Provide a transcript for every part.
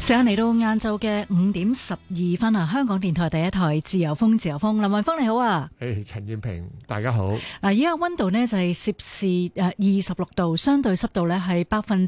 時間嚟到晏晝嘅5:12啊！香港電台第一台自由風，自由風，林雲峰你好啊！ 陳燕平，大家好。 而家溫度呢就係攝氏26度，相對濕度呢係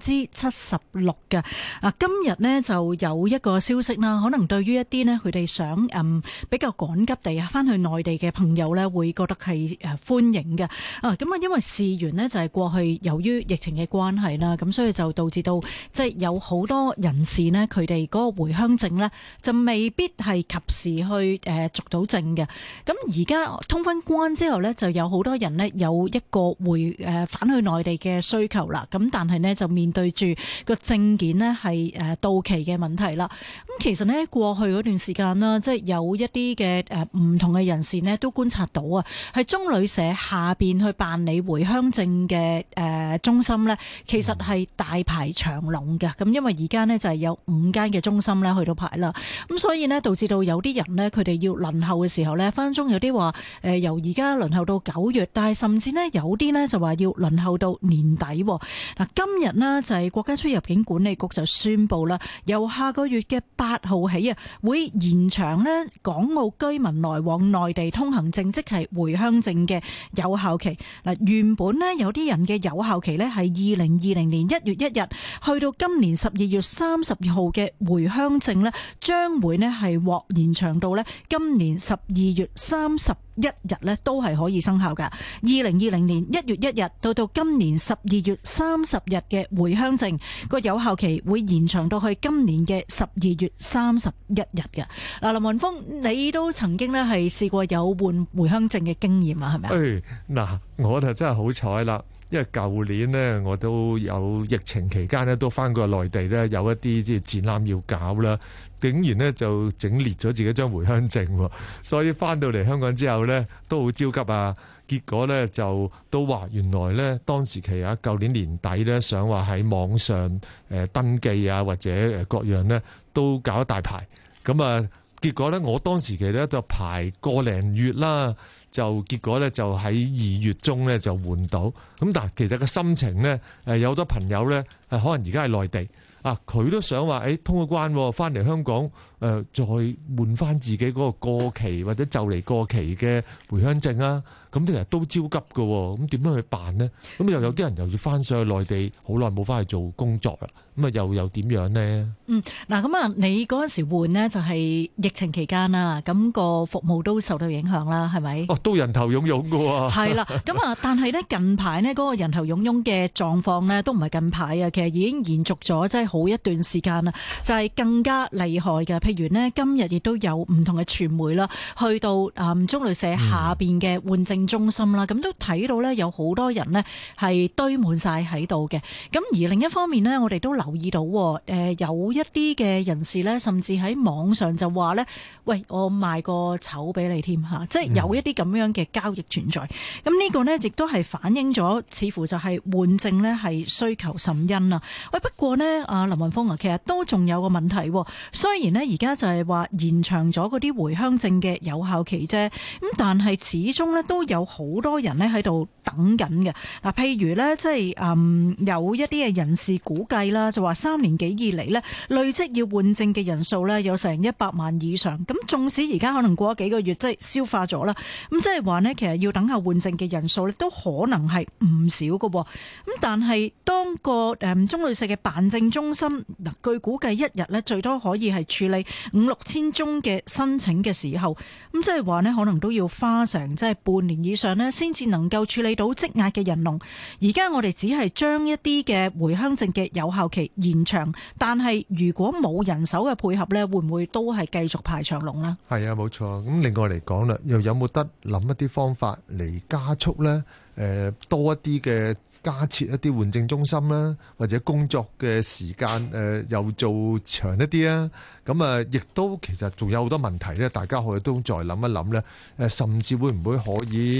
76%嘅。今日呢就有一個消息啦，可能對於一啲呢佢哋想比較趕急地翻去內地嘅朋友呢，會覺得係歡迎嘅。咁因為事緣呢就係過去由於疫情嘅關係啦，咁所以就導致到即係有好多人士呢，佢哋嗰個回鄉證呢，就未必係及時去續到證嘅。咁而家通翻關之後呢，就有好多人呢，有一個返去內地嘅需求啦。咁但係呢，就面對住個證件呢係到期嘅問題啦。咁其實呢，過去嗰段時間啦，即係有一啲嘅唔同嘅人士呢，都觀察到啊，喺中旅社下邊去辦理回鄉證嘅中心呢，其實係大排長龍嘅。咁因為而家呢，就係有5間嘅中心咧去到排啦，咁所以呢，導致到有啲人呢，佢哋要輪候嘅時候呢，分鐘有啲話由而家輪候到9月，但係甚至呢，有啲呢就話要輪候到年底。嗱，今日呢，就係國家出入境管理局就宣布啦，由下個月嘅8號起啊，會延長呢港澳居民來往內地通行證，即係回鄉證嘅有效期。嗱，原本呢，有啲人嘅有效期呢係2020年1月1日去到今年12月30號嘅回鄉證呢，將會呢係獲延長到呢今年12月31日呢都係可以生效㗎。2020年1月1日到今年12月30日嘅回鄉證個有效期會延長到去今年嘅12月31日嘅。嗱，林雲峰，你都曾經呢係試過有換回鄉證嘅經驗啊？係咪啊？ 我就真係好彩啦。因為舊年呢，我都有疫情期間呢，都翻過內地呢，有一啲即係展覽要搞啦，竟然呢就整裂咗自己張回鄉證，所以翻到嚟香港之後呢，都好焦急啊！結果呢，就都話原來呢，當時期啊，舊年年底呢，想話喺網上登記啊，或者各樣呢，都搞一大排，咁啊結果呢，我當時期呢，就排個零月啦。就結果咧，就喺2月中咧就換到。咁但係其實個心情咧，有好多朋友咧，可能而家係內地啊，佢都想話通過關翻嚟香港，再換翻自己嗰個過期或者就嚟過期嘅回鄉證啊。咁其實都焦急㗎，咁點樣去辦呢？咁又有啲人又要翻上去內地，好耐冇翻去做工作啦。咁啊又點樣呢？ 嗱咁啊，你嗰陣時換呢就係疫情期間啦，咁個服務都受到影響啦，係咪？ 都人頭湧湧㗎喎。 係啦，咁啊，但係呢近排呢嗰個人頭湧湧嘅狀況呢都唔係近排啊，其實已經延續咗真係好一段時間啦，就係更加厲害嘅。譬如呢，今日亦都有唔同嘅傳媒啦，去到中旅社下邊嘅換證中心啦，咁都睇到呢有好多人呢係堆滿晒喺度嘅。咁而另一方面呢，我哋都留意到有一啲嘅人士呢，甚至喺網上就話呢：喂，我賣個丑俾你添嚇，即係有一啲咁樣嘅交易存在。咁呢個呢，亦都係反映咗，似乎就係換證呢係需求甚殷啊。喂，不過呢，阿林雲峰啊，其實都仲有個問題。雖然呢，而家就係話延長咗嗰啲回鄉證嘅有效期啫，咁但係始終呢，都有好多人呢喺度等緊嘅。嗱，譬如呢，即係有一啲嘅人士估計啦，就話3年幾以嚟呢，累積要換證嘅人數呢，有成100萬以上。咁縱使而家可能過咗幾個月，即係消化咗啦，咁即係話呢，其實要等下換證嘅人數呢，都可能係唔少嘅。咁但係當個中旅社嘅辦證中心嗱，據估計一日呢，最多可以係處理5-6千宗嘅申請嘅時候，咁即係話呢，可能都要花成即係半年以上呢，先至能夠處理到積壓嘅人龍。而家我哋只係將一啲嘅回鄉證嘅有效期延長，但係如果冇人手嘅配合呢，會唔會都係繼續排長龍呢？ 係啊，冇錯。咁另外嚟講啦，又有冇得諗一啲方法嚟加速呢？多一啲嘅加設一啲換證中心啦，或者工作嘅時間又做長一啲啊。咁啊，亦都其實仲有好多問題咧，大家可以都再諗一諗咧。甚至會唔會可以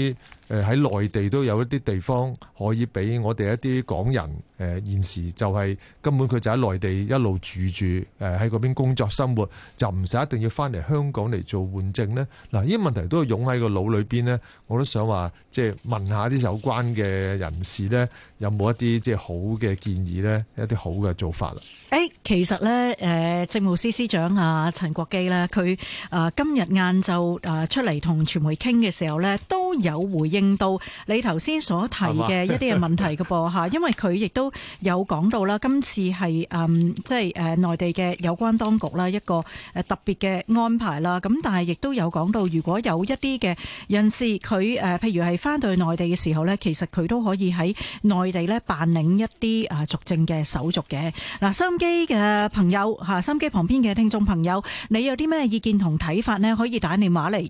喺內地都有一啲地方可以俾我哋一啲港人現時就係根本佢就喺內地一路住喺嗰邊工作生活，就唔使一定要翻嚟香港嚟做換證呢？嗱，呢啲問題都係湧喺個腦裏邊呢。我都想話即係問下啲有關嘅人士呢，有冇一啲即係好嘅建議呢？一啲好嘅做法啦。 其實咧，政務司司長陳國基咧，佢今日晏晝出嚟同傳媒傾嘅時候咧，都有回應到你頭先所提嘅一啲嘅問題嘅噃嚇，因為佢亦都有講到啦，今次係即係內地嘅有關當局啦一個特別嘅安排啦，咁但係亦都有講到，如果有一啲嘅人士佢譬如係翻到去內地嘅時候咧，其實佢都可以喺內地咧辦理一啲續證嘅手續嘅。嗱，收音機嘅朋友嚇，收音機旁邊嘅聽眾朋友，你有啲咩意見同睇法呢？可以打電話嚟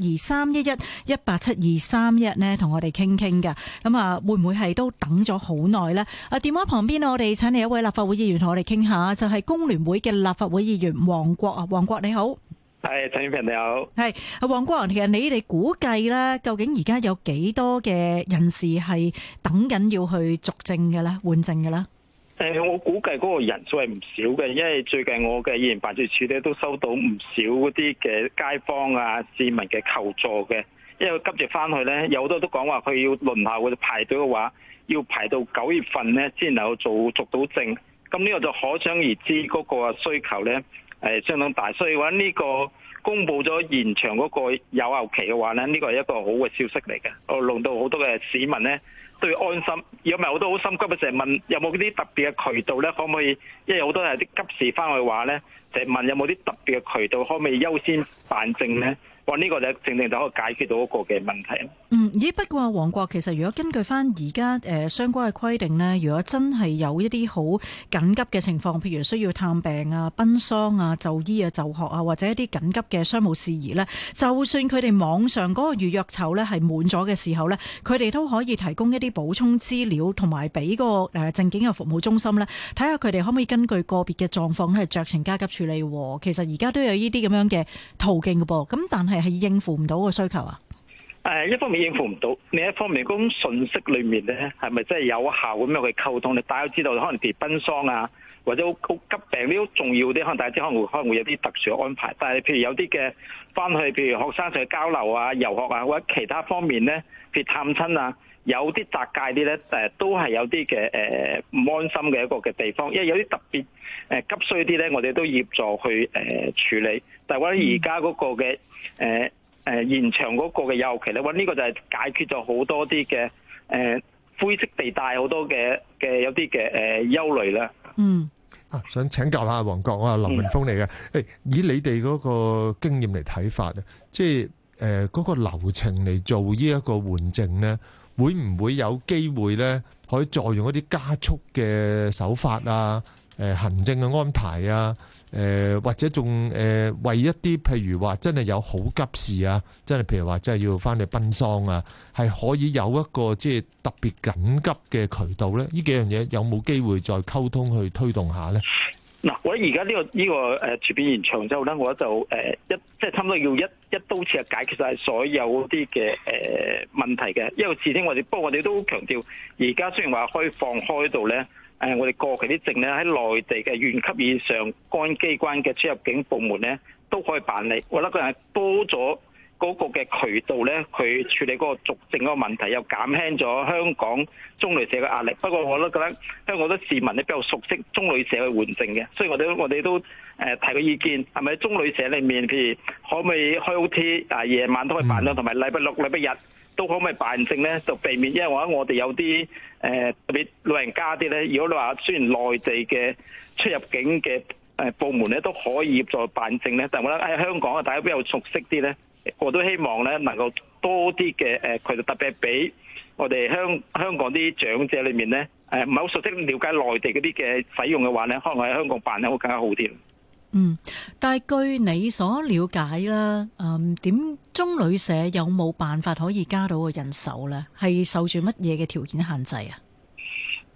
1872311，1872311呢，同我哋傾傾嘅。咁啊，會唔會係都等咗好耐呢？電話旁邊我哋請嚟一位立法會議員同我哋傾下，就係工聯會嘅立法會議員黃國啊，黃國你好。 係陳婉嫻你好。係黃國，其實你哋估計咧，究竟而家有幾多嘅人士係等緊要去續證嘅咧，換證嘅咧？ 我估計嗰個人數係唔少嘅，因為最近我嘅議員辦事處咧都收到唔少嗰啲嘅街坊啊、市民嘅求助嘅，因為急住翻去咧，有好多都講話佢要輪候或者排隊嘅話，要排到9月份咧先能夠續到證，咁呢個就可想而知嗰個需求咧係相當大，所以話呢個公佈咗延長嗰個有效期嘅話咧，呢個係一個好嘅消息嚟嘅，令到好多嘅市民咧都要安心。如果唔係，我都好心急嘅，成日問有冇啲特別嘅渠道咧，可唔可以？因為好多係啲急事翻去話咧，就係問有冇啲特別嘅渠道，可唔可以優先辦證咧？哇！呢個就正正就可以解決到一個嘅問題。 不過黃國，其實如果根據翻而家相關嘅規定呢，如果真係有一啲好緊急嘅情況，譬如需要探病啊、奔喪啊、就醫啊、就學啊，或者一啲緊急嘅商務事宜呢，就算佢哋網上嗰個預約籌呢係滿咗嘅時候呢，佢哋都可以提供一啲補充資料，同埋俾個證件嘅服務中心呢，睇下佢哋可唔可以根據個別嘅狀況咧酌情加急處理。其實而家都有呢啲咁樣嘅途徑嘅噃，咁但係應付唔到個需求啊？ 一方面應付唔到，另一方面嗰種信息裏面咧，係咪真係有效咁樣去溝通？大家都知道，可能譬如奔喪啊，或者好急病呢啲好重要啲，可能大家知可能會有啲特殊嘅安排。但係譬如有啲嘅翻去，譬如學生上去交流啊、遊學啊，或者其他方面咧，譬如探親啊，有啲窄界啲咧，都係有啲嘅唔安心嘅一個嘅地方。因為有啲特別急需啲咧，我哋都協助去處理。但係我覺得而家嗰個嘅延長嗰個嘅有效期咧，呢個就係解決咗好多啲嘅灰色地帶，好多嘅有啲嘅憂慮啦。 想請教下黃國，我係林文峰嚟嘅。以你哋嗰個經驗嚟睇法咧，即係嗰個流程嚟做呢一個換證咧，會唔會有機會咧可以再用一啲加速嘅手法啊？行政嘅安排啊？或者仲為一啲譬如話真係有好急事啊，真係譬如話真係要翻去奔喪啊，係可以有一個即係特別緊急嘅渠道咧？呢幾樣嘢有冇機會再溝通去推動下咧？ 嗱，我覺得而家呢個全面延長之後咧，我就即係差唔多要一刀切解決晒所有啲嘅問題嘅。因為事先不過我哋都強調，而家雖然話可以放開到咧。我哋過期啲證咧喺內地嘅縣級以上公安機關嘅出入境部門咧都可以辦理。我覺得佢係多咗嗰個嘅渠道咧，去處理嗰個續證嗰個問題，又減輕咗香港中旅社嘅壓力。不過我都覺得香港好多市民咧比較熟悉中旅社去換證嘅，所以我哋都提個意見，係咪中旅社裏面，譬如可唔可以開 OT 夜晚都可以辦到，同埋禮拜六、禮拜日都可唔可以辦證咧？就避免，因為我哋有啲特別老人家啲咧，如果你話雖然內地嘅出入境嘅部門咧都可以協助辦證咧，但係我覺得喺香港啊，大家比較熟悉啲咧，我都希望咧能夠多啲嘅佢哋特別係俾我哋香港啲長者裏面咧唔係好熟悉了解內地嗰啲嘅使用嘅話咧，可能喺香港辦咧會更加好啲。 但係據你所了解啦，點中旅社有冇辦法可以加到個人手咧？係受住乜嘢嘅條件限制啊？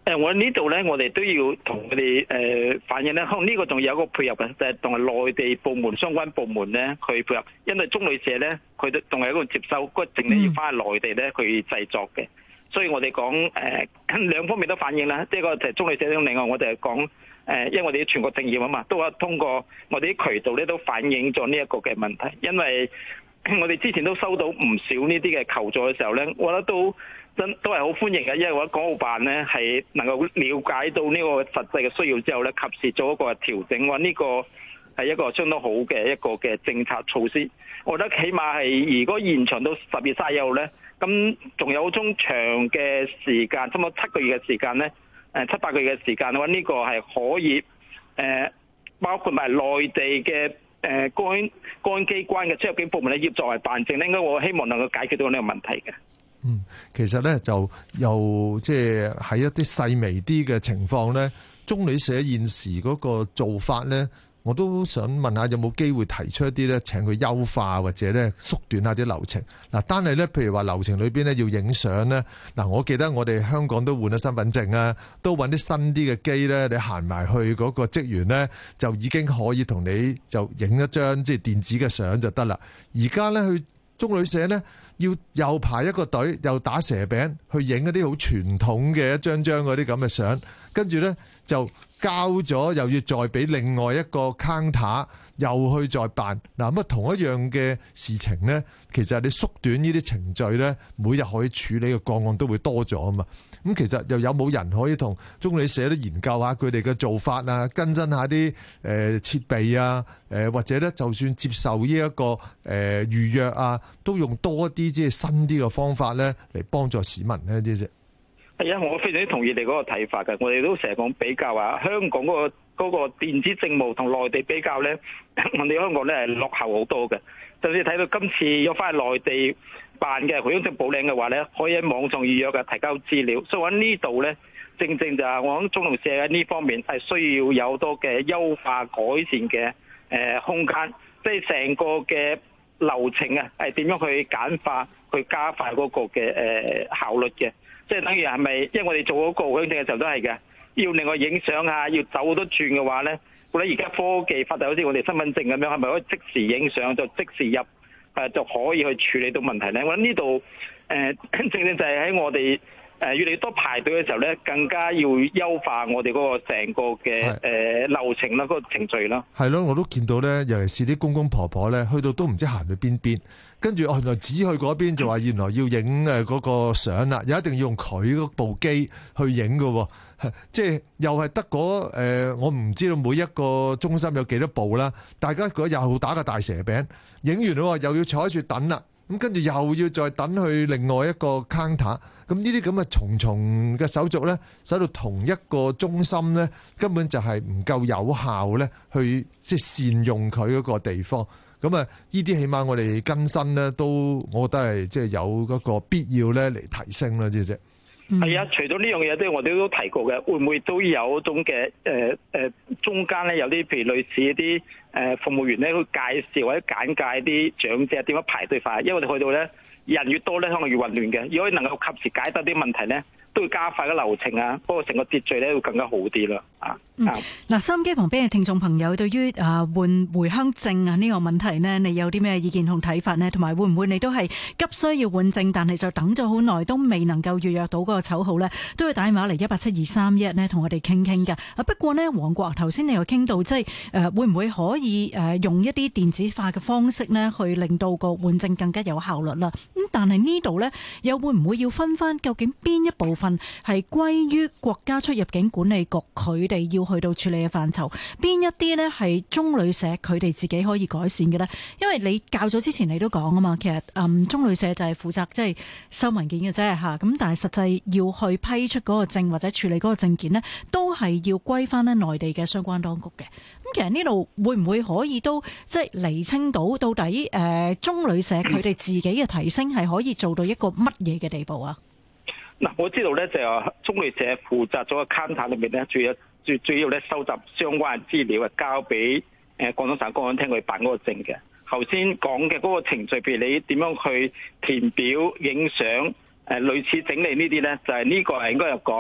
我呢度咧，我哋都要同佢哋反映咧，可能呢個仲有一個配合嘅，就係同埋內地部門相關部門咧去配合，因為中旅社咧佢都仲係一個接收嗰個證咧要翻去內地咧去製作嘅，所以我哋講兩方面都反映啦，即係個就係中旅社，另外我哋係講因為我哋全國政協啊嘛，都話通過我哋啲渠道咧都反映咗呢一個嘅問題，因為我哋之前都收到唔少呢啲嘅求助嘅時候咧，我覺得都係好歡迎嘅，因為我覺得港澳辦咧係能夠了解到呢個實際嘅需要之後咧，及時做一個調整，我呢個係一個相當好嘅一個嘅政策措施。我覺得起碼係如果延長到10月31號咧，咁仲有種長嘅時間，差唔多7個月嘅時間咧，7、8個月嘅時間嘅話，呢個係可以包括埋內地嘅公安機關嘅出入境部門咧，要作為辦證咧，應該我希望能夠解決到呢個問題嘅。 其實咧就又即係喺一啲細微啲嘅情況咧，中旅社現時嗰個做法咧，我都想問下有冇機會提出一啲咧，請佢優化或者咧縮短下啲流程。嗱，單係咧，譬如話流程裏邊咧要影相咧，嗱，我記得我哋香港都換咗身份證啊，都揾啲新啲嘅機咧，你行埋去嗰個職員咧，就已經可以同你就影一張即係電子嘅相就得啦。而家咧去中旅社咧，要又排一個隊，又打蛇餅去影一啲好傳統嘅一張張嗰啲咁嘅相，跟住咧就交咗，又要再俾另外一個 counter， 又去再辦。嗱，咁啊同一樣嘅事情咧，其實你縮短呢啲程序咧，每日可以處理嘅個案都會多咗啊嘛。咁其實又有冇人可以同中旅社都研究下佢哋嘅做法啊，更新下啲設備啊，或者咧就算接受呢一個預約啊，都用多啲即係新啲嘅方法咧嚟幫助市民呢啲啫。 係啊，我非常之同意你嗰個睇法嘅。我哋都成日講比較啊，香港嗰個電子政務同內地比較咧，我哋香港咧係落後好多嘅。就算睇到今次要翻去內地辦嘅回鄉證補領嘅話咧，可以喺網上預約嘅提交資料。所以喺呢度咧，正就係我諗中旅社喺呢方面係需要有多嘅優化改善嘅空間，即係成個嘅流程啊，係點樣去簡化、去加快嗰個嘅效率嘅。即係等於係咪？因為我哋做嗰個回鄉證嘅時候都係嘅，要另外影相啊，要走好多轉嘅話咧，我覺得而家科技發達，好似我哋身份證咁樣，係咪可以即時影相就即時入就可以去處理到問題咧？我諗呢度正就係喺我哋越嚟越多排隊嘅時候咧，更加要優化我哋嗰個成個嘅流程啦，嗰個程序啦。係咯，我都見到咧，尤其是啲公公婆婆咧，去到都唔知行去邊。跟住原來指去嗰邊就話原來要影嗰個相啦，又一定要用佢嗰部機去影㗎，即係又係得嗰我唔知道每一個中心有幾多部啦。大家嗰又打個大蛇餅，影完咯又要坐喺處等啦，咁跟住又要再等去另外一個 counter。咁呢啲咁嘅重重嘅手續咧，使到同一個中心咧根本就係唔夠有效咧，去即係善用佢嗰個地方。咁啊，呢啲起碼我哋更新咧，都我覺得係即係有嗰個必要咧嚟提升啦，啲啫。 係啊，除咗呢樣嘢，即係我哋都提過嘅，會唔會都有一種嘅中間咧有啲譬如類似一啲服務員咧去介紹或者簡介啲長者點樣排隊法，因為我哋去到咧人越多咧，可能越混亂嘅。如果能夠及時解答啲問題咧，都會加快個流程啊，不過成個秩序咧會更加好啲啦。 嗱，收音機旁邊嘅聽眾朋友，對於換回鄉證啊呢個問題呢，你有啲咩意見同睇法呢？同埋會唔會你都係急需要換證，但係就等咗好耐都未能夠預約到嗰個籌號呢？都要打電話嚟1872311呢，同我哋傾傾㗎。不過呢，黃國頭先你又傾到，即係會唔會可以用一啲電子化嘅方式呢，去令到個換證更加有效率啦？咁但係呢度呢，又會唔會要分翻究竟邊一部分係歸於國家出入境管理局佢哋要去到處理嘅範疇，邊一啲呢係中旅社佢哋自己可以改善嘅呢？因為你較早之前你都講啊嘛，其實中旅社就係負責即係收文件嘅啫嚇，咁但係實際要去批出嗰個證或者處理嗰個證件呢，都係要歸翻呢內地嘅相關當局嘅。咁其實呢度會唔會可以都即係釐清到到底中旅社佢哋自己嘅提升係可以做到一個乜嘢嘅地步啊？ 嗱，我知道咧就係中旅社負責咗個 counter 裏面咧，主要咧收集相關嘅資料，交俾廣東省公安廳去辦嗰個證嘅。頭先講嘅嗰個程序，譬如你點樣去填表、影相、類似整理呢啲咧，就係呢個係應該係講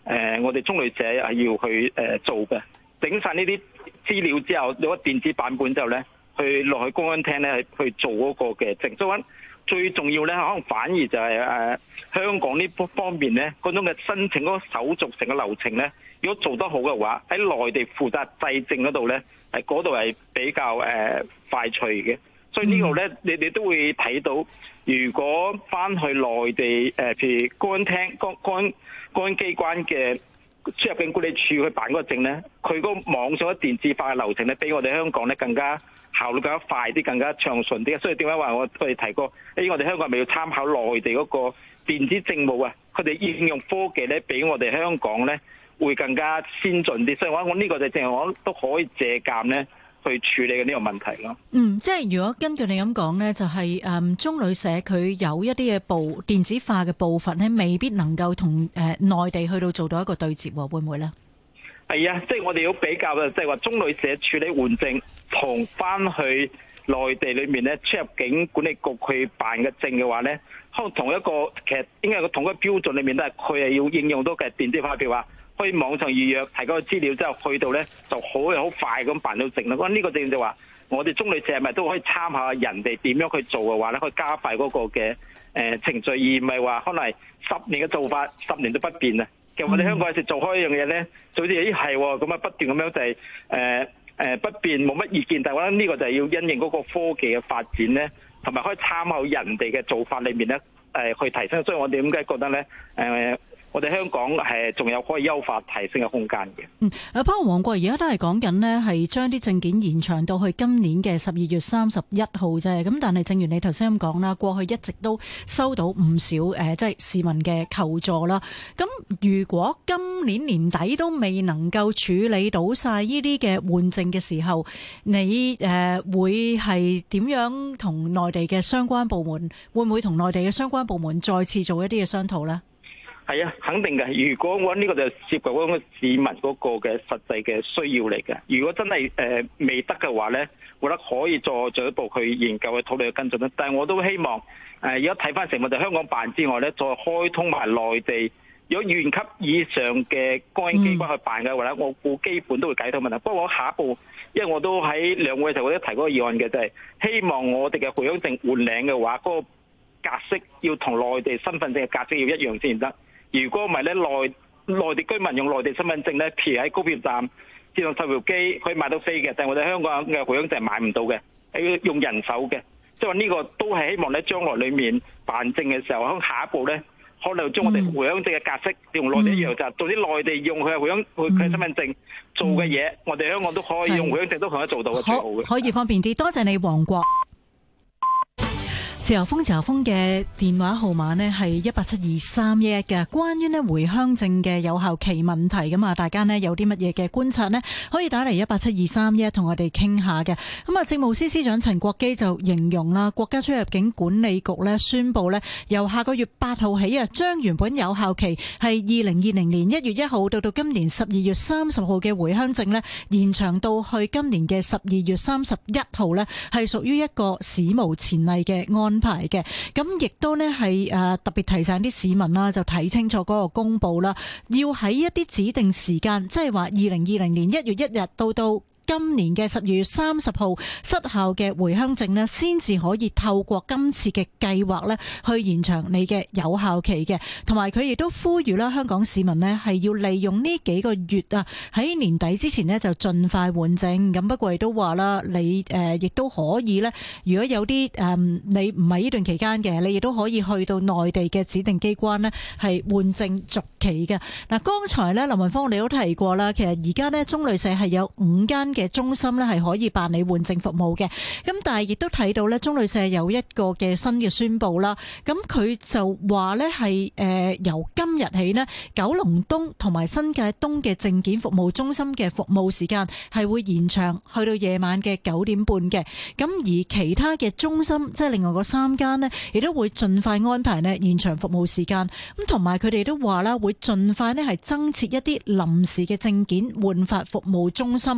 我哋中旅社係要去做嘅，整晒呢啲資料之後，有個電子版本之後咧，去落去公安廳咧去做嗰個嘅證。所以最重要咧，可能反而就係香港呢方面咧，嗰種嘅申請嗰個手續成個流程咧，如果做得好嘅話，喺內地負責制證嗰度咧，嗰度係比較快脆嘅。所以呢度咧，你哋都會睇到，如果翻去內地譬如公安廳、公安機關嘅出入境管理處去辦嗰個證咧，佢嗰個網上嘅電子化嘅流程咧，比我哋香港咧更加效率更加快啲，更加暢順啲。所以點解話我哋提過，我哋香港係咪要參考內地嗰個電子政務啊？佢哋應用科技咧，比我哋香港咧會更加先進啲。所以我呢個就正係我都可以借鑑咧，去處理嘅呢個問題咯。 即係如果根據你咁講呢，就係中旅社佢有一啲嘅電子化嘅部分呢，未必能夠同內地去到做到一個對接，會唔會呢？ 係啊，即係我哋要比較嘅，即係話中旅社處理換證同翻去內地裏面咧出入境管理局去辦嘅證嘅話咧，可能同一個其實應該係同一個標準裏面都係佢係要應用到嘅電子化，譬如話可以網上預約提供資料之後去到咧就好快咁辦到證啦。咁呢個證就話我哋中旅社係咪都可以參考下人哋點樣去做嘅話咧，可以加快嗰個嘅程序，而唔係話可能係10年嘅做法10年都不變啊。其實我哋香港有時做開一樣嘢咧，就好似係咁啊，不斷咁樣就係不變冇乜意見，但係我覺得呢個就係要因應嗰個科技嘅發展咧，同埋可以參考人哋嘅做法裏面咧去提升。所以我哋點解覺得咧我哋香港係仲有可以優化提升嘅空間嘅。 包括黃國而家都係講緊呢，係將啲證件延長到去今年嘅12月31號啫。咁但係正如你頭先咁講啦，過去一直都收到唔少即係市民嘅求助啦。咁如果今年年底都未能夠處理到晒呢啲嘅換證嘅時候，你會係點樣同內地嘅相關部門？會唔會同內地嘅相關部門再次做一啲嘅商討呢？ 係啊，肯定嘅。如果我呢個就涉及嗰個市民嗰個嘅實際嘅需要嚟嘅。如果真係未得嘅話咧，我覺得可以再進一步去研究去討論去跟進啦。但係我都希望而家睇翻成個就香港辦之外咧，再開通埋內地，如果縣級以上嘅公安機關去辦嘅話咧，我估基本都會解決問題。不過我下一步，因為我都喺兩會嘅時候我都提嗰個議案嘅，就係希望我哋嘅回鄉證換領嘅話，嗰個格式要同內地身份證嘅格式要一樣先得。如果唔係咧，內地居民用內地身份證咧，譬如喺高鐵站自動售票機可以買到飛嘅，但係我哋香港嘅回鄉證係買唔到嘅，係要用人手嘅。即係話呢個都係希望咧，將來裡面辦證嘅時候，喺下一步咧，可能將我哋回鄉證嘅格式用內地一樣，就做啲內地用佢嘅回鄉佢身份證做嘅嘢，我哋香港都可以用回鄉證都可以做到嘅，最好嘅。 可以方便啲。多謝你，黃國。自由風嘅電話號碼呢係1872311嘅，關於呢回鄉證嘅有效期問題咁啊，大家呢有啲乜嘢嘅觀察呢？可以打嚟1872311同我哋傾下嘅。咁啊，政務司司長陳國基就形容啦，國家出入境管理局呢宣布呢，由下個月8號起啊，將原本有效期係2020年1月1號到今年12月30號嘅回鄉證呢，延長到去今年嘅12月31號呢，係屬於一個史無前例嘅安排嘅。咁亦都呢係特別提醒啲市民啦，就睇清楚嗰個公佈啦，要喺一啲指定時間，即係話2020年1月1日到今年嘅12月30號失效嘅回鄉證呢，先至可以透過今次嘅計劃呢去延長你嘅有效期嘅。同埋佢亦都呼籲啦，香港市民呢係要利用呢幾個月啊，喺年底之前呢就盡快換證。咁不過亦都話啦，你亦都可以呢，如果有啲你唔係呢段期間嘅，你亦都可以去到內地嘅指定機關呢係換證續期嘅。嗱，剛才呢，林雲芳你都提過啦，其實而家呢，中旅社係有5間嘅中心咧係可以辦理換證服務嘅，咁但係亦都睇到咧，中旅社有一個嘅新嘅宣佈啦，咁佢就話咧係由今日起咧，九龍東同埋新界東嘅證件服務中心嘅服務時間係會延長去到夜晚嘅9點半嘅，咁而其他嘅中心即係另外嗰3間咧，亦都會盡快安排咧延長服務時間，咁同埋佢哋都話啦，會盡快咧係增設一啲臨時嘅證件換發服務中心去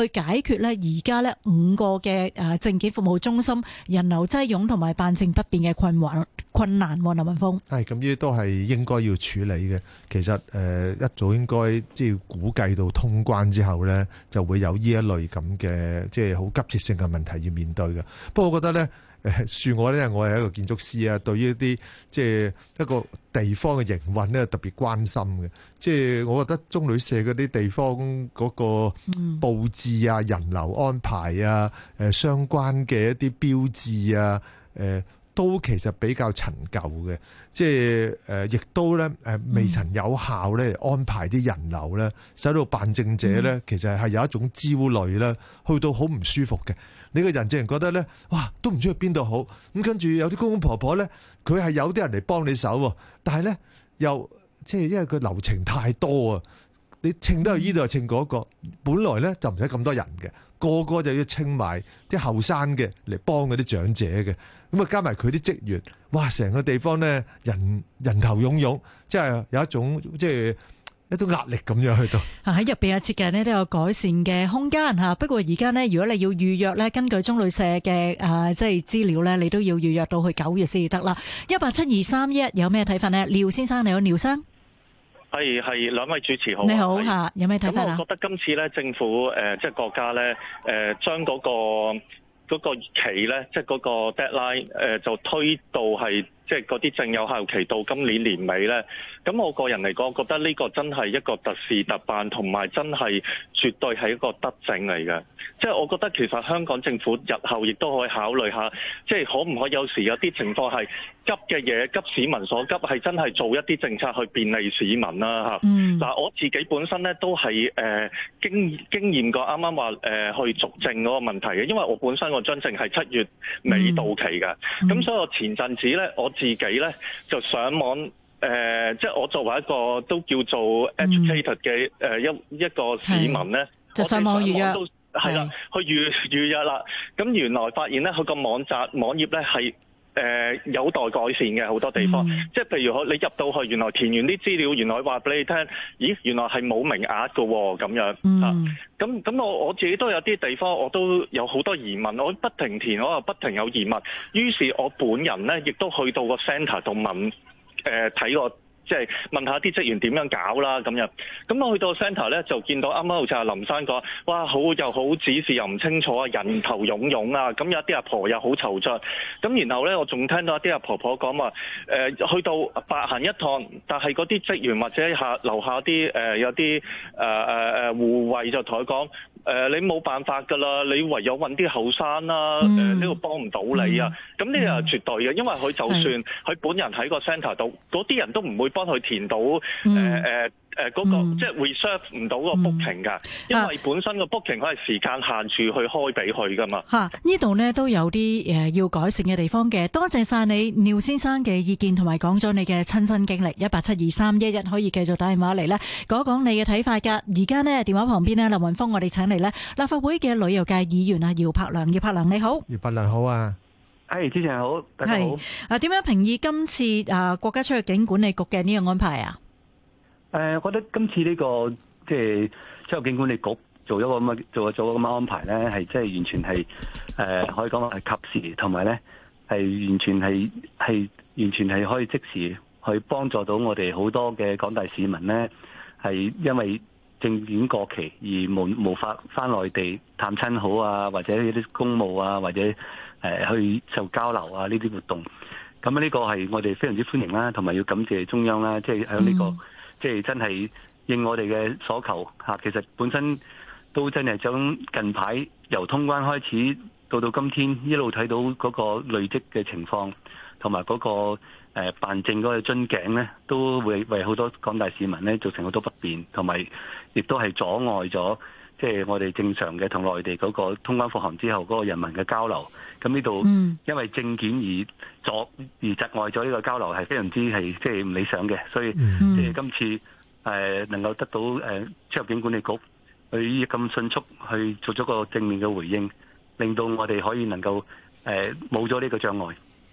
解決咧而家咧5個嘅證件服務中心人流擠擁同埋辦證不便嘅困難。林文峰， 係咁，呢啲都係應該要處理嘅。其實一早應該即係估計到通關之後咧，就會有呢一類咁嘅即係好急切性嘅問題要面對嘅。不過我覺得咧，恕我咧，我係一個建築師啊，對於一啲即係一個地方嘅營運咧特別關心嘅。即係我覺得中旅社嗰啲地方嗰個佈置啊、人流安排啊、相關嘅一啲標誌啊、都其實比較陳舊嘅，即係亦都咧未曾有效咧安排啲人流咧，使到辦證者咧其實係有一種焦慮咧，去到好唔舒服嘅。你個人淨係覺得咧，哇，都唔知去邊度好。咁跟住有啲公公婆婆咧，佢係有啲人嚟幫你手，但係咧又即係因為佢流程太多啊，你稱都係呢度又稱嗰個，本來咧就唔使咁多人嘅，個個就要稱埋啲後生嘅嚟幫嗰啲長者嘅。咁啊，加埋佢啲職員，哇！成個地方咧人頭湧湧，即係有一種即係一種壓力咁樣去到。喺入邊嘅設計呢都有改善嘅空間嚇。不過而家呢，如果你要預約呢，根據中旅社嘅即係資料呢，你都要預約到去9月先至得啦。1872311有咩睇法呢？廖先生，你好，廖生。 係兩位主持好。 你好嚇，有咩睇法啊？ 咁我覺得今次咧政府即係國家咧將嗰個期咧，即係嗰個 deadline 就推到係即係嗰啲證有效期到今年年尾咧。咁我個人嚟講，我覺得呢個真係一個特事特辦，同埋真係絕對係一個德政嚟嘅。即係我覺得其實香港政府日後亦都可以考慮下，即係可唔可以有時有啲情況係急嘅嘢，急市民所急，係真係做一啲政策去便利市民啦嚇。嗱，我自己本身咧都係經驗過啱啱話去續證嗰個問題嘅，因為我本身個張證係7月尾到期嘅，咁所以我前陣子咧我自己咧就上網。即係我作為一個都叫做 educated 嘅一個市民咧， 就上網預約， 係啦，去預約啦。咁原來發現咧，佢個網頁咧係有待改善嘅好多地方。即係譬如你入到去，原來填完啲資料，原來話俾你聽，咦，原來係冇名額㗎喎，咁樣。咁我自己都有啲地方，我都有好多疑問，我不停填，我又不停有疑問。於是我本人咧，亦都去到個 centre 度問。睇過即係問下啲職員點樣搞啦咁樣，咁我去到 centre 咧就見到啱啱好似阿林生講，哇又好指示又唔清楚啊，人頭湧湧啊，咁有啲阿婆又好惆悵，咁然後咧我仲聽到一啲阿婆婆講話，去到白行一趟，但係嗰啲職員或者樓下啲有啲護衛就同佢講。你冇辦法㗎啦，你唯有揾啲後生啦，呢個幫唔到你啊。咁呢個係絕對嘅，因為佢就算佢本人喺個 centre 度，嗰啲人都唔會幫佢填到嗰個即係 reserve 唔到個 booking 㗎，因為本身個 booking 佢係時間限住去開俾佢㗎嘛。 呢度呢都有啲要改善嘅地方嘅。多謝晒你廖先生嘅意見同埋講咗你嘅親身經歷。1872311可以繼續打電話嚟呢講講你嘅睇法㗎。而家呢電話旁邊呢，林文峰，我哋請嚟呢立法會嘅旅遊界議員啊姚柏良。姚柏良你好。 姚柏良好啊。 主持人好，大家好。 點樣評議今次國家出入境管理局嘅呢個安排啊？ 我覺得今次呢個即係出入境管理局做咗個咁嘅安排咧，係即係完全係可以講係及時，同埋咧係完全係可以即時去幫助到我哋好多嘅廣大市民咧，係因為證件過期而無法返內地探親好啊，或者一啲公務啊，或者去受交流啊呢啲活動。咁呢個係我哋非常之歡迎啦，同埋要感謝中央啦，即係喺呢個。即係真係應我哋嘅所求嚇，其實本身都真係將近排由通關開始到今天一路睇到嗰個累積嘅情況，同埋嗰個辦證嗰個樽頸咧，都會為好多廣大市民咧造成好多不便，同埋亦都係阻礙咗即係我哋正常嘅同內地嗰個通關復航之後嗰個人民嘅交流。咁呢度因為證件而窒礙咗呢個交流，係非常之係即係唔理想嘅，所以即係今次能夠得到出入境管理局去咁迅速去做咗個正面嘅回應，令到我哋可以能夠冇咗呢個障礙。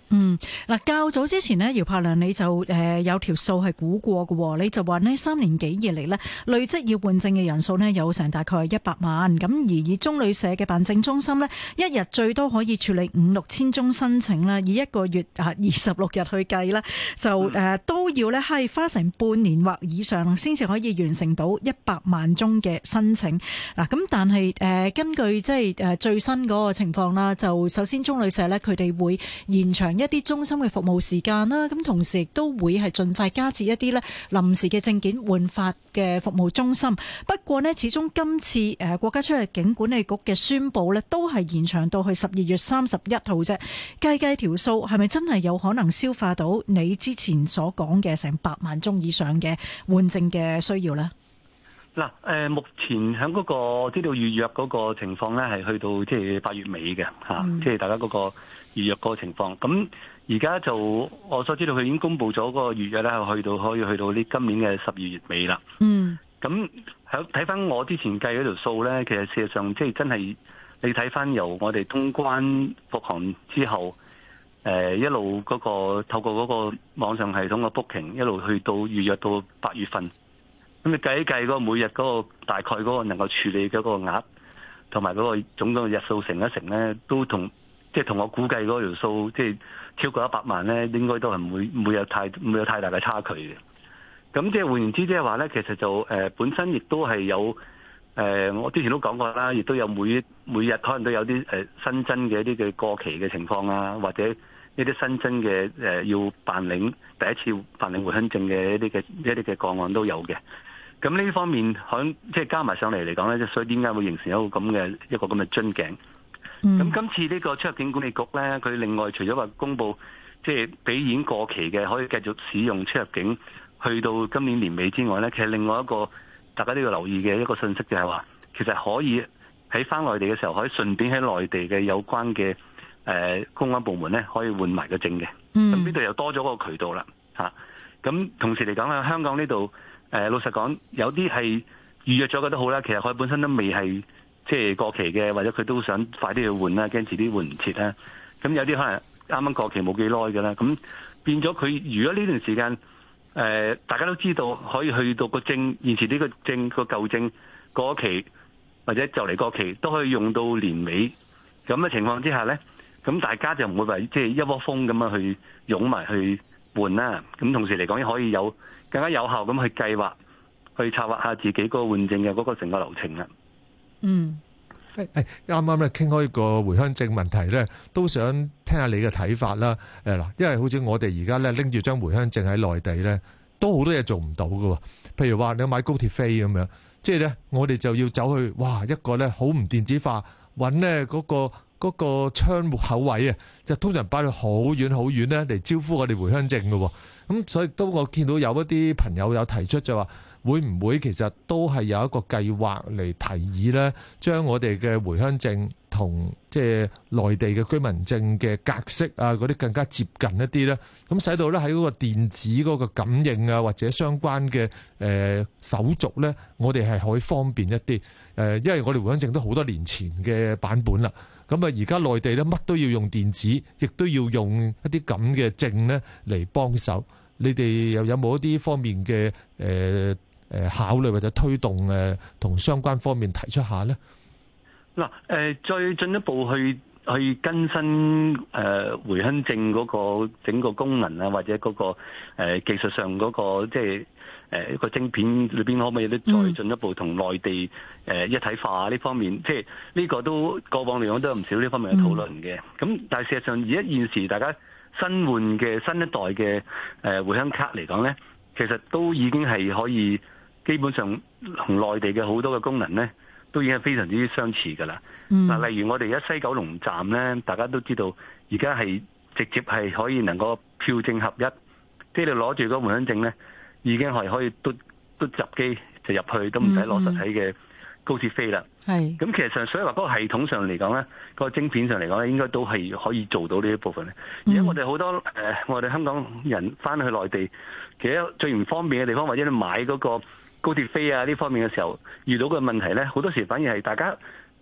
嗱，較早之前呢，姚柏良你就有條數係估過嘅，你就話呢3年幾以嚟呢，累積要換證嘅人數呢，有成大概100萬，咁而以中旅社嘅辦證中心呢，一日最多可以處理5-6千宗申請啦，以一個月26日去計啦，就都要呢係花成半年或以上先至可以完成到100萬宗嘅申請。嗱，咁但係根據即係最新嗰個情況啦，就首先中旅社呢，佢哋會延長一啲中心嘅服務時間啦，咁同時亦都會係盡快加設一啲咧臨時嘅證件換發嘅服務中心。不過呢，始終今次國家出入境管理局嘅宣佈呢，都係延長到去12月31號啫。計條數係咪真係有可能消化到你之前所講嘅成100萬宗以上嘅換證嘅需要呢？ 嗱，目前喺嗰個知道預約嗰個情況咧，係去到即係8月尾嘅嚇，即係大家嗰個預約嗰個情況。咁而家就我所知道，佢已經公布咗嗰個預約咧，可以去到呢今年嘅12月尾啦。咁睇翻我之前計嗰條數咧，其實事實上即係真係你睇翻由我哋通關復航之後，一路嗰個透過嗰個網上系統嘅 booking， 一路去到預約到8月份。咁你計一計嗰個每日嗰個大概嗰個能夠處理嗰個額，同埋嗰個總共日數乘一乘咧，都同我估計嗰條數，即係超過100萬咧，應該都係唔會有太大嘅差距嘅。咁即係換言之，即係話咧，其實就本身亦都係有我之前都講過啦，亦都有每日可能都有啲新增嘅一啲嘅過期嘅情況啊，或者一啲新增嘅要辦領第一次辦領回鄉證嘅一啲嘅個案都有嘅。咁呢方面即係加埋上嚟嚟講咧，所以點解會形成一個咁嘅樽頸？咁今次呢個出入境管理局咧，佢另外除咗話公布即係俾已經過期嘅可以繼續使用出入境去到今年年尾之外咧，其實另外一個大家都要留意嘅一個信息就係話，其實可以喺翻內地嘅時候，可以順便喺內地嘅有關嘅公安部門咧，可以換埋個證嘅。咁呢度又多咗個渠道啦嚇。咁同時嚟講咧，香港呢度老實講，有啲係預約咗嘅都好啦，其實佢本身都未係即係過期嘅，或者佢都想快啲去換啦，驚遲啲換唔切啦。咁有啲可能啱啱過期冇幾耐嘅啦，咁變咗佢如果呢段時間大家都知道可以去到個證現時呢個證個舊證過期或者就嚟過期都可以用到年尾咁嘅情況之下咧，咁大家就唔會話即係一窩蜂咁樣去湧埋去換啦。咁同時嚟講，可以有更加有效咁去計劃、去策劃下自己嗰個換證嘅嗰個成個流程啦。 啱啱咧傾開個回鄉證問題咧，都想聽下你嘅睇法啦。因為好似我哋而家咧拎住張回鄉證喺內地咧，都好多嘢做唔到㗎。譬如話你買高鐵飛咁樣，即係咧我哋就要走去一個咧好唔電子化，揾咧嗰個窗戶口位啊，就通常擺到好遠好遠咧嚟招呼我哋回鄉證㗎。咁所以都我見到有一啲朋友有提出就話，會唔會其實都係有一個計劃嚟提議咧，將我哋嘅回鄉證同即係內地嘅居民證嘅格式啊嗰啲更加接近一啲咧，咁使到咧喺嗰個電子嗰個感應啊或者相關嘅手續咧，我哋係可以方便一啲。因為我哋回鄉證都好多年前嘅版本啦，咁啊而家內地咧乜都要用電子，亦都要用一啲咁嘅證咧嚟幫手。你哋又有冇一啲方面嘅考慮或者推動同相關方面提出下呢？ 嗱，再進一步去更新回鄉證嗰個整個功能啊，或者嗰個技術上嗰個即係一個晶片裏邊可唔可以都再進一步同內地一體化呢方面，即係呢個都過往嚟講都有唔少呢方面嘅討論嘅。咁但係事實上而家現時大家新換嘅新一代嘅回鄉卡嚟講咧，其實都已經係可以基本上同內地嘅好多嘅功能咧，都已經係非常之相似㗎啦。嗱，例如我哋而家西九龍站咧，大家都知道而家係直接係可以能夠票證合一，即係你攞住嗰個回鄉證咧，已經係可以嘟入機就入去，都唔使攞實體嘅高鐵飛啦。咁其實上，所以話嗰個系統上嚟講咧，個晶片上嚟講咧，應該都係可以做到呢一部分咧。而家我哋好多我哋香港人翻去內地，其實最唔方便嘅地方，或者你買嗰個高鐵飛啊呢方面嘅時候，遇到嘅問題咧，好多時反而係大家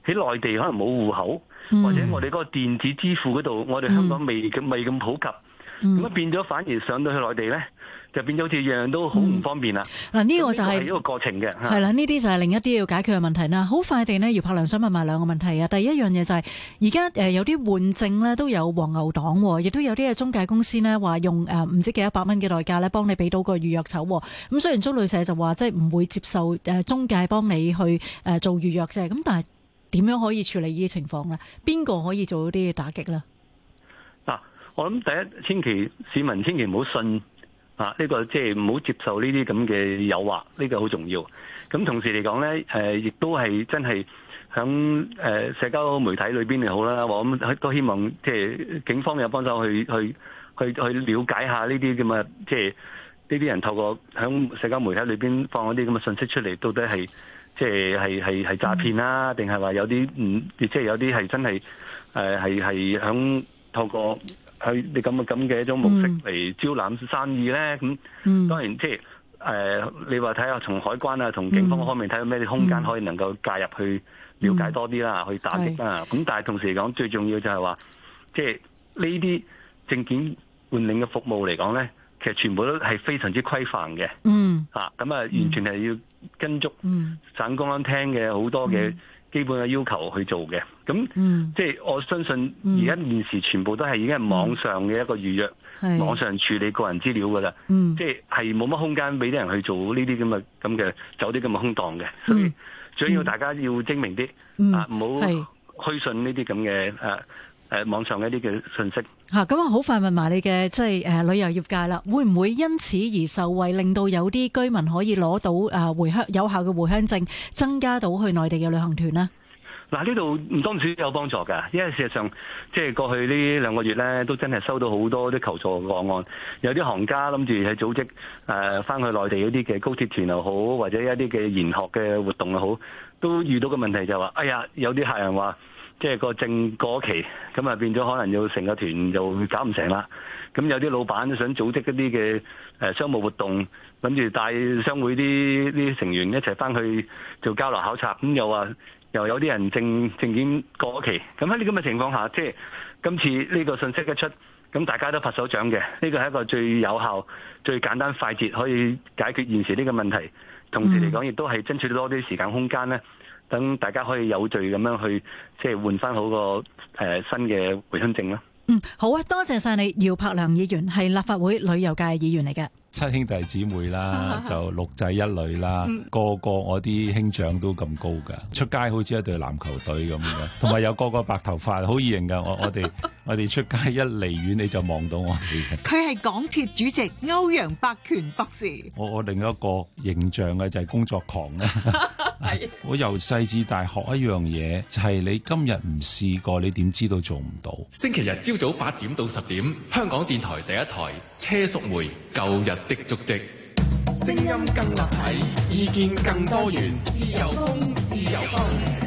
喺內地可能冇戶口，或者我哋嗰個電子支付嗰度，我哋香港未咁普及，咁變咗反而上到去內地咧，就變咗好似樣樣都好唔方便啦。 嗱，呢個就係一個過程嘅， 係啦，呢啲就係另一啲要解決嘅問題啦。好快地呢，姚柏良想問埋兩個問題啊。第一樣嘢就係而家有啲換證呢都有黃牛黨，亦都有啲嘅中介公司呢話用唔知幾多百蚊嘅代價呢幫你俾到個預約籌。咁雖然租旅社就話即係唔會接受中介幫你去做預約啫，咁但係點樣可以處理呢啲情況呢？邊個可以做到啲打擊呢？ 嗱，我諗第一，市民千祈唔好信。呢個即係唔好接受呢啲咁嘅誘惑，呢個好重要。咁同時嚟講咧，亦都係真係響社交媒體裏邊又好啦，我咁都希望即係警方有幫手去了解下呢啲咁嘅，即係呢啲人透過響社交媒體裏邊放一啲咁嘅信息出嚟，到底係即係詐騙啦，定係話有啲即係有啲係真係係響透過你咁嘅一種模式嚟招攬生意咧，咁當然即係你話睇下從海關啊、同警方方面睇下咩啲空間可以能夠介入去了解多啲啦，去打擊啦。咁但係同時嚟講，最重要就係話，即係呢啲證件換領嘅服務嚟講咧，其實全部都係非常之規範嘅。咁完全係要跟足省公安廳嘅好多嘅基本嘅要求去做嘅，咁即係我相信而家現時全部都係已經係網上嘅一個預約，網上處理個人資料噶啦，即係冇乜空間俾啲人去做呢啲咁嘅走啲咁嘅空檔嘅，所以最緊要大家要精明啲，唔好虛信呢啲咁嘅網上一啲嘅信息。 咁啊，好快問埋你嘅即係旅遊業界啦，會唔會因此而受惠，令到有啲居民可以攞到有效嘅回鄉證，增加到去內地嘅旅行團呢？ 嗱，呢度唔多唔少有幫助㗎，因為事實上即係過去呢2個月咧，都真係收到好多啲求助個案，有啲行家諗住係組織翻去內地嗰啲嘅高鐵團又好，或者一啲嘅研學嘅活動又好，都遇到個問題就係話，哎呀，有啲客人話，即係個證過期，咁啊變咗可能要成個團就搞唔成啦。咁有啲老闆都想組織一啲嘅商務活動，諗住帶商會啲成員一齊翻去做交流考察，咁又有啲人證件過期。咁喺呢咁嘅情況下，即係今次呢個信息一出，咁大家都拍手掌嘅。呢個係一個最有效、最簡單快捷可以解決現時呢個問題。同時嚟講，亦都係爭取多啲時間空間咧。等大家可以有序咁樣去，即係換翻好個新嘅回鄉證啦。 好啊，多謝晒你，姚柏良議員係立法會旅遊界議員嚟嘅。 7兄弟姊妹啦，就6仔1女啦，個我啲兄長都咁高噶，出街好似一隊籃球隊咁樣，同埋有個白頭髮，好易認噶。我哋出街一離遠你就望到我哋嘅。 佢係港鐵主席歐陽伯權博士。 我另一個形象嘅就係工作狂啦。我由細至大學一樣嘢，就係你今日唔試過，你點知道做唔到？ 星期日朝早8點到10點，香港電台第一台車淑梅舊日的足跡，聲音更立體，意見更多元，自由風，自由風。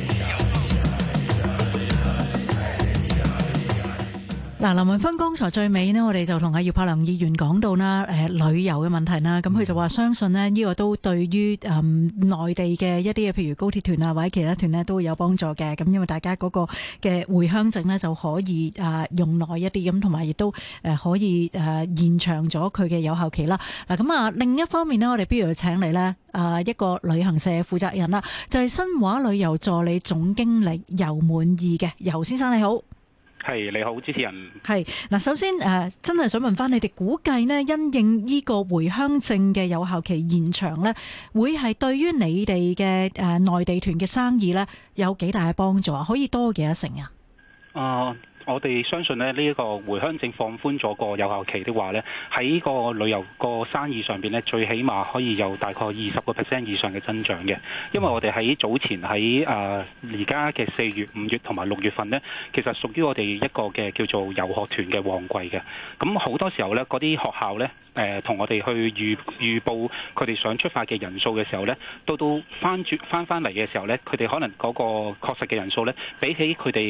嗱，林文芬剛才最尾呢，我哋就同阿姚柏良議員講到啦，旅遊嘅問題啦，咁佢就話相信呢，呢個都對於內地嘅一啲嘅譬如高鐵團啊或者其他團呢都會有幫助嘅，咁因為大家嗰個嘅回鄉證呢就可以用耐一啲，咁同埋亦都可以延長咗佢嘅有效期啦。嗱，咁啊另一方面呢，我哋不如請嚟呢一個旅行社負責人啦，就係新華旅遊助理總經理游滿意嘅，游先生你好。 係，你好，主持人。 係嗱，首先真係想問翻你哋估計呢，因應呢個回鄉證嘅有效期延長呢，會係對於你哋嘅內地團嘅生意呢有幾大嘅幫助啊？可以多幾多成啊？ 我哋相信呢一個回鄉證放寬咗個有效期的話呢，喺個旅遊個生意上邊呢，最起碼可以有大概20% 以上嘅增長嘅。因為我哋喺早前喺而家嘅4月、5月同埋6月份呢，其實屬於我哋一個嘅叫做遊學團嘅旺季嘅。咁好多時候呢，嗰啲學校呢，同我哋去預報佢哋想出發嘅人數嘅時候呢，到翻嚟嘅時候呢，佢哋可能嗰個確實嘅人數呢，比起佢哋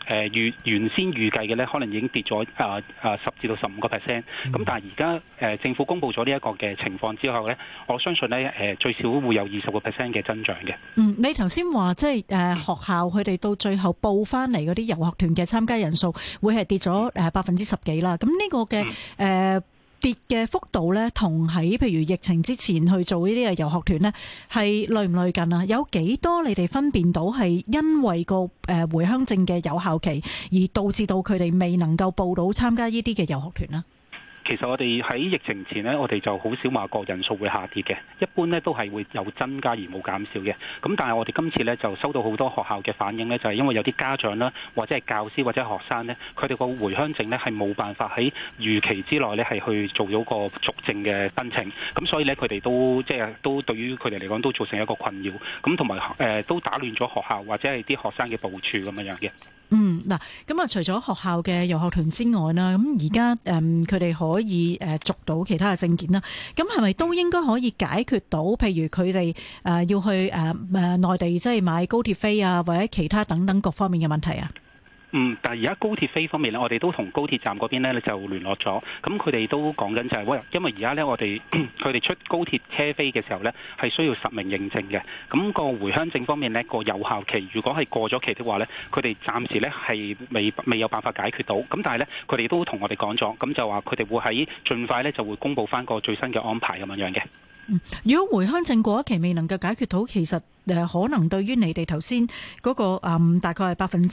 原先預計嘅咧，可能已經跌咗10至到15%。咁但係而家政府公布咗呢一個嘅情況之後咧，我相信咧最少會有20% 嘅增長嘅。 你頭先話即係學校佢哋到最後報翻嚟嗰啲遊學團嘅參加人數會係跌咗10%幾啦。咁呢個嘅跌嘅幅度咧，同喺譬如疫情之前去做呢啲嘅遊學團咧，係類唔類近啊？有幾多你哋分辨到係因為個回鄉證嘅有效期而導致到佢哋未能夠報到參加呢啲嘅遊學團呢？ 其實我哋喺疫情前呢，我哋就好少話個人數會下跌嘅，一般呢都係會有增加而冇減少嘅。咁但係我哋今次呢，就收到好多學校嘅反應呢，就係因為有啲家長啦，或者係教師或者學生呢，佢哋個回鄉證呢係冇辦法喺預期之內呢係去做咗個續證嘅申請，咁所以呢，佢哋都對於佢哋嚟講都造成一個困擾，咁同埋都打亂咗學校或者係啲學生嘅部署咁樣嘅。 嗱，咁啊，除咗學校嘅遊學團之外啦，咁而家佢哋可以續到其他嘅證件啦。咁係咪都應該可以解決到，譬如佢哋要去內地即係買高鐵飛啊，或者其他等等各方面嘅問題啊？ 但係而家高鐵飛方面咧，我哋都同高鐵站嗰邊咧就聯絡咗，咁佢哋都講緊就係因為而家咧我哋佢哋出高鐵車飛嘅時候咧係需要實名認證嘅，咁個回鄉證方面咧個有效期如果係過咗期的話咧，佢哋暫時咧係未有辦法解決到，咁但係咧佢哋都同我哋講咗，咁就話佢哋會喺盡快咧就會公佈翻個最新嘅安排咁樣嘅。 如果回鄉證過一期未能夠解決到，其實可能對於你哋頭先嗰個大概係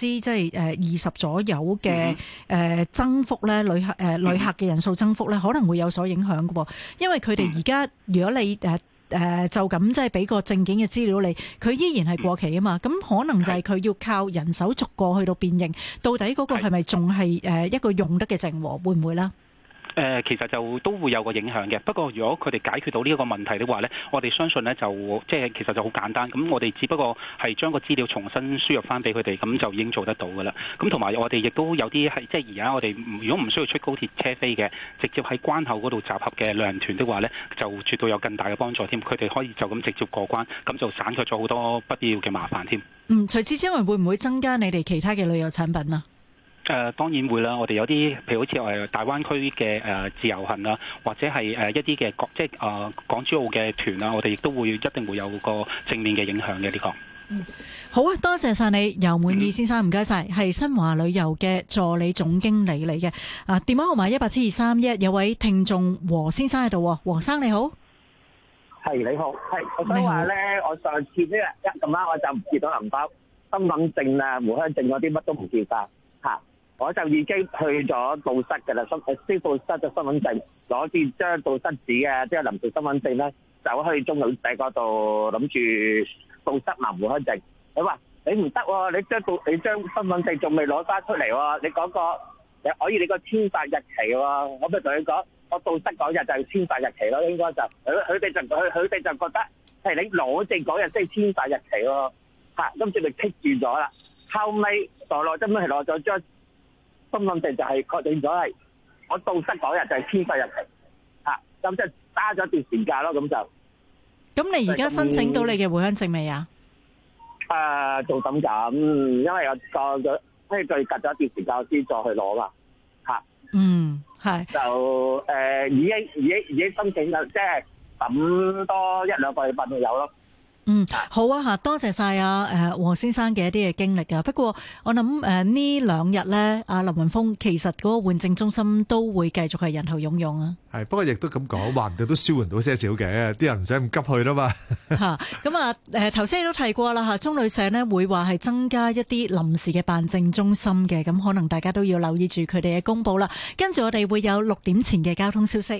20%左右嘅增幅咧，旅客嘅人數增幅咧，可能會有所影響嘅喎。因為佢哋而家如果你就咁即係俾個證件嘅資料你，佢依然係過期啊嘛。咁可能就係佢要靠人手逐個去到辨認，到底嗰個係咪仲係一個用得嘅證喎？會唔會咧？ 其實就都會有個影響嘅，不過如果佢哋解決到呢一個問題的話呢，我哋相信呢就其實就好簡單，咁我哋只不過係將個資料重新輸入翻俾佢哋，咁就已經做得到噶啦。咁同埋我哋亦都有啲係即係而家我哋如果唔需要出高鐵車飛嘅，直接喺關口嗰度集合嘅旅行團的話呢，就絕對有更大嘅幫助添。佢哋可以就咁直接過關，咁就省卻咗好多不必要嘅麻煩添。除此之外，會唔會增加你哋其他嘅旅遊產品啊？ 當然會啦，我哋有啲譬如好似我大灣區嘅自由行啊，或者係一啲嘅港珠澳嘅團啊，我哋亦都一定會有個正面嘅影響嘅呢個。 好啊，多謝晒你，游滿意先生，唔該晒，係新華旅遊嘅助理總經理嚟嘅。電話號碼1872311，有位聽眾黃先生喺度，黃生你好。 係你好，係我想話咧，我上次呢日咁啱我就唔見到銀包、身份證啊、回鄉證嗰啲乜都唔見晒嚇。我就已經去咗到室嘅啦，消到室嘅身份證，攞住張到室紙嘅，即係臨時身份證咧，走去中旅社嗰度諗住到室拿回鄉證。佢話你唔得喎，你張身份證仲未攞翻出嚟喎，你嗰個可以你個簽發日期喎。我咪同佢講，我到室嗰日就係簽發日期咯，應該就佢哋就覺得係你攞證嗰日先係簽發日期喎。嚇，今次咪棘住咗啦。後尾攞咗張身份證就係確定咗係我到室嗰日就係簽發日期，咁即係揸咗段時間咯，咁就。咁你而家申請到你嘅回鄉證未啊？ 做緊咁，因為我隔咗一段時間先再去攞嘛， 係。 就已經申請咗，即係等多1-2個禮拜就有咯。 好啊吓，多謝晒黃先生嘅一啲嘅經歷啊。不過我諗呢2日咧，阿林雲峰其實嗰個換證中心都會繼續係人頭湧湧啊。 係，不過亦都咁講，話唔定都舒緩到些少嘅，啲人唔使咁急去啦嘛。咁頭先都提過啦吓，中旅社呢會話係增加一啲臨時嘅辦證中心嘅，咁可能大家都要留意住佢哋嘅公佈啦。跟住我哋會有6點前嘅交通消息。